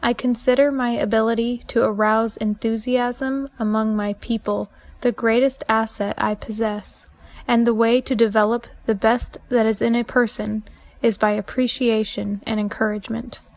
I consider my ability to arouse enthusiasm among my people the greatest asset I possess, and the way to develop the best that is in a person is by appreciation and encouragement.